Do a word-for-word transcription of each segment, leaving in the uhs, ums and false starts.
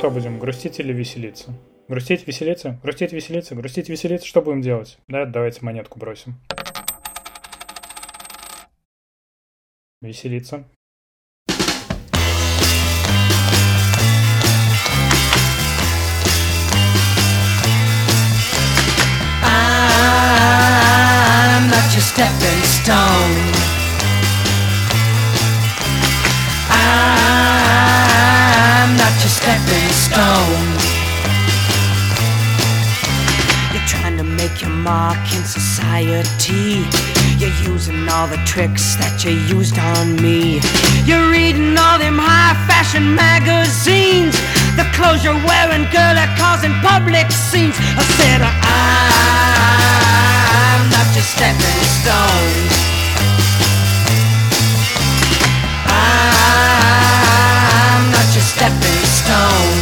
что будем, грустить или веселиться? Грустить, веселиться? Грустить, веселиться? Грустить, веселиться? Что будем делать? Да, давайте монетку бросим. Веселиться. I'm not your stepping stone. I'm not your stepping stone. You're trying to make your mark in society. You're using all the tricks that you used on me. You're reading all them high fashion magazines. The clothes you're wearing, girl, are causing public scenes. I said I'm not your stepping stone. I'm not your stepping stone.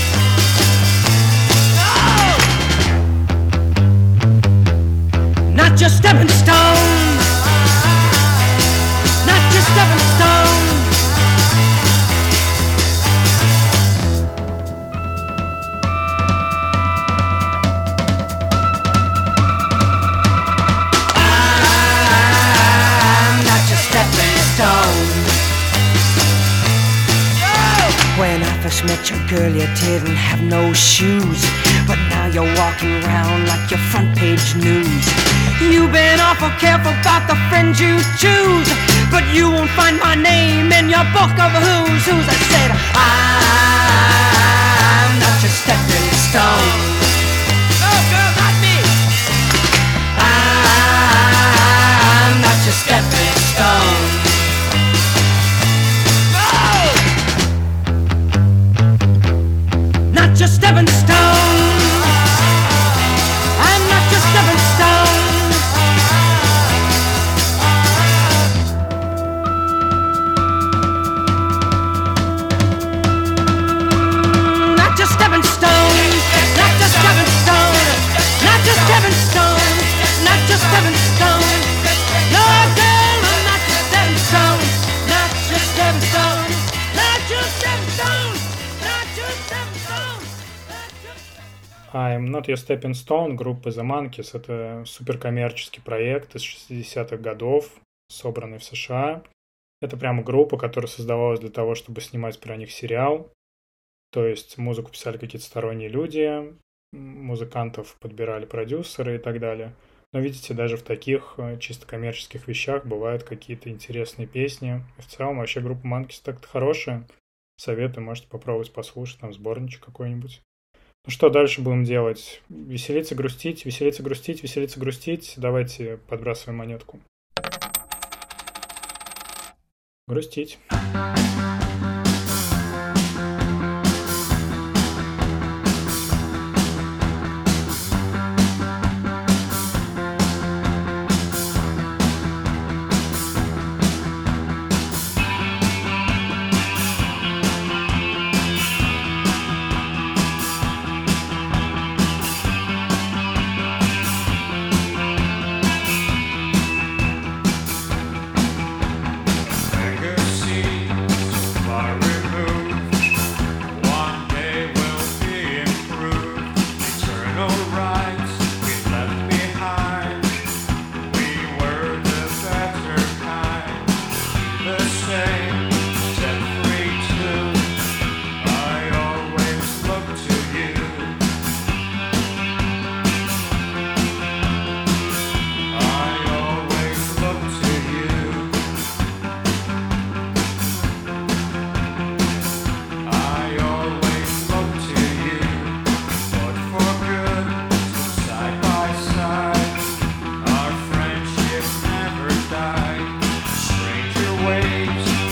Not your stepping stone. Not your stepping stone. I'm not your stepping stone. When I first met you, girl, you didn't have no shoes, but now you're walking around like your front page news. You've been awful careful about the friends you choose, but you won't find my name in your book of who's who's. I said I'm not your stepping stone. Oh, girl, not me. I'm not your stepping stone. Not your stepping stone. I'm not your stepping stone. Not your stepping stone. Not your stepping stone. Not your stepping stone. Not your stepping stone. No, girl, I'm not your stepping stone. Not your stepping stone. Not your stepping stone. Not your stepping stone. I'm Not Your Stepping Stone группы The Monkees. Это суперкоммерческий проект из шестидесятых годов, собранный в США. Это прямо группа, которая создавалась для того, чтобы снимать про них сериал. То есть музыку писали какие-то сторонние люди, музыкантов подбирали продюсеры и так далее. Но видите, даже в таких чисто коммерческих вещах бывают какие-то интересные песни. И в целом вообще группа Monkees так-то хорошая. Советую, можете попробовать послушать, там сборничек какой-нибудь. Ну что дальше будем делать? Веселиться, грустить, веселиться, грустить, веселиться, грустить. Давайте подбрасываем монетку. Грустить. Waves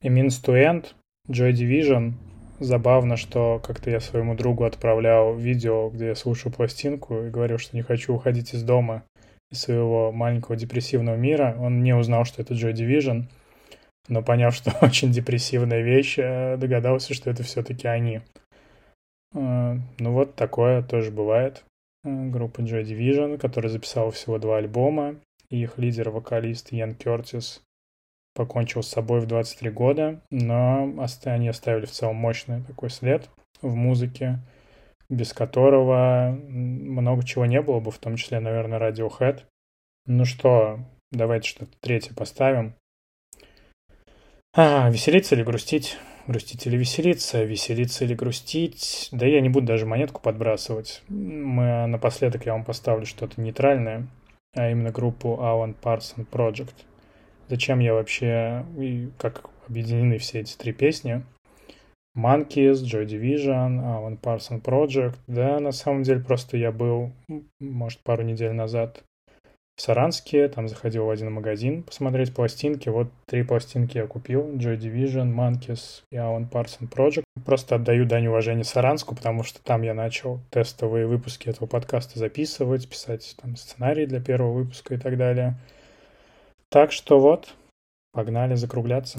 A Means to End, Joy Division. Забавно, что как-то я своему другу отправлял видео, где я слушаю пластинку и говорил, что не хочу уходить из дома, из своего маленького депрессивного мира. Он не узнал, что это Joy Division, но поняв, что очень депрессивная вещь, догадался, что это все-таки они. Ну вот такое тоже бывает. Группа Joy Division, которая записала всего два альбома, и их лидер-вокалист Ян Кёртис покончил с собой в двадцать три года, но они оставили в целом мощный такой след в музыке, без которого много чего не было бы, в том числе, наверное, Radiohead. Ну что, давайте что-то третье поставим. А, веселиться или грустить? Грустить или веселиться? Веселиться или грустить? Да я не буду даже монетку подбрасывать. Мы, напоследок я вам поставлю что-то нейтральное, а именно группу Alan Parsons Project. Зачем я вообще, и как объединены все эти три песни? Monkeys, Joy Division, Alan Parsons Project. Да, на самом деле просто я был, может, пару недель назад в Саранске, там заходил в один магазин посмотреть пластинки. Вот три пластинки я купил: Joy Division, Monkeys и Alan Parsons Project. Просто отдаю дань уважения Саранску, потому что там я начал тестовые выпуски этого подкаста записывать, писать там сценарий для первого выпуска и так далее. Так что вот, погнали закругляться.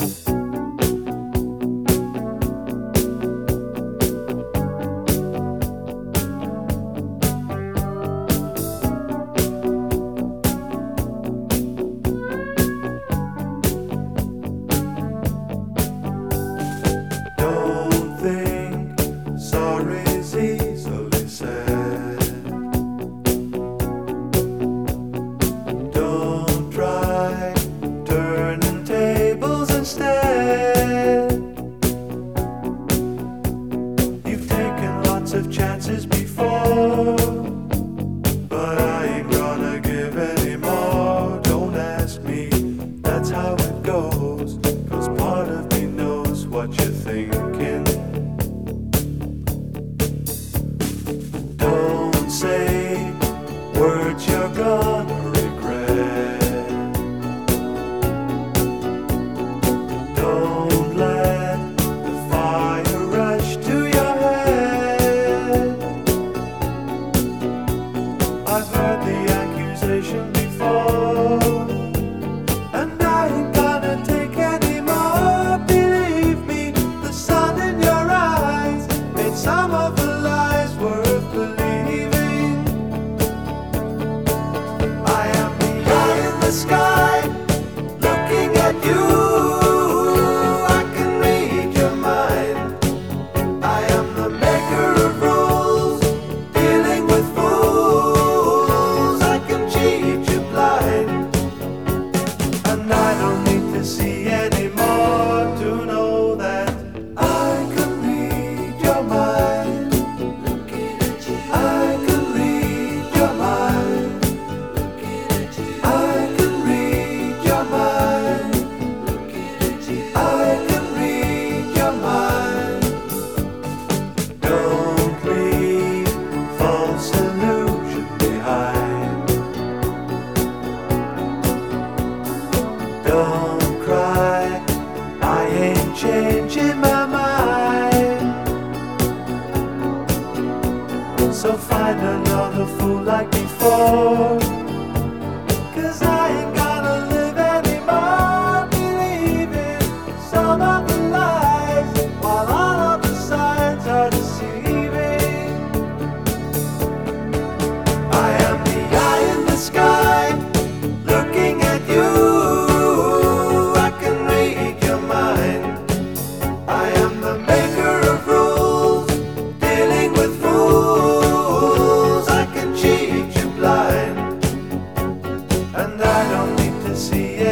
See